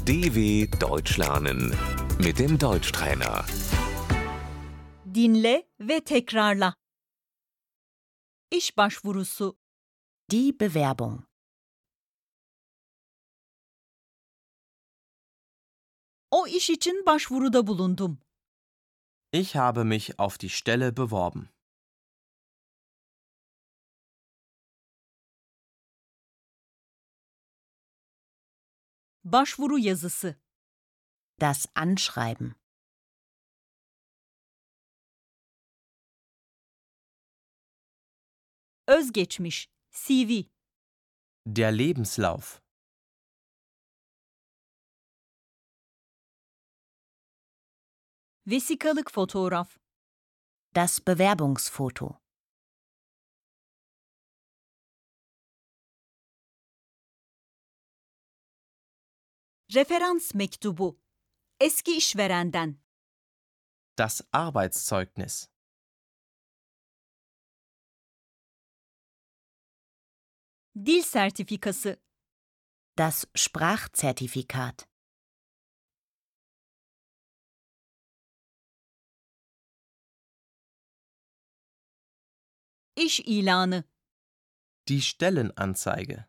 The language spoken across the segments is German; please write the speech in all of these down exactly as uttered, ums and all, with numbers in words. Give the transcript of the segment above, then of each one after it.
D W Deutsch lernen mit dem Deutschtrainer. Dinle ve tekrarla. İş başvurusu. Die Bewerbung. O iş için başvuruda bulundum. Ich habe mich auf die Stelle beworben. Başvuru yazısı. Das Anschreiben. Özgeçmiş. C V. Der Lebenslauf. Vesikalık fotoğraf. Das Bewerbungsfoto. Referans mektubu. Eski işverenden. Das Arbeitszeugnis. Dil sertifikası. Das Sprachzertifikat. İş ilanı. Die Stellenanzeige.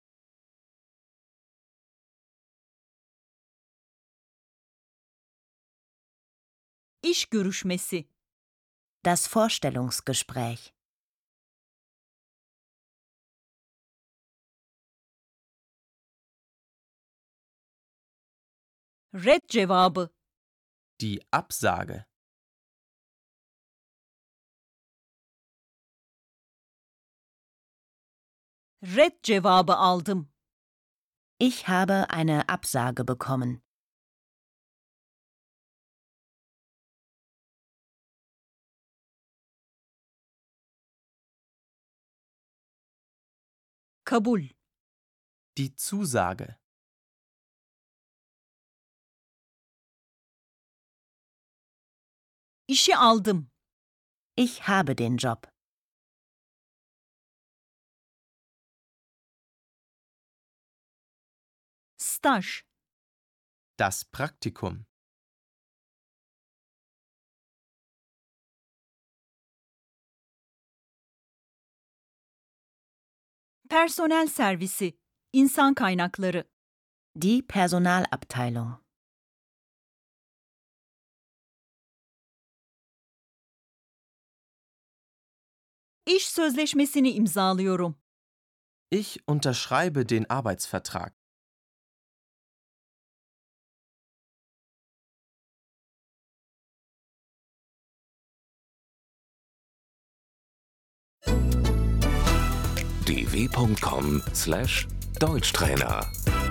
İş görüşmesi. Das Vorstellungsgespräch. Red cevabı. Die Absage. Red cevabı aldım. Ich habe eine Absage bekommen. Kabul. Die Zusage. İşi aldım. Ich habe den Job. Staj. Das Praktikum. Personel servisi. İnsan kaynakları. Die Personalabteilung. İş sözleşmesini imzalıyorum. Ich unterschreibe den Arbeitsvertrag. d w punkt com slash Deutschtrainer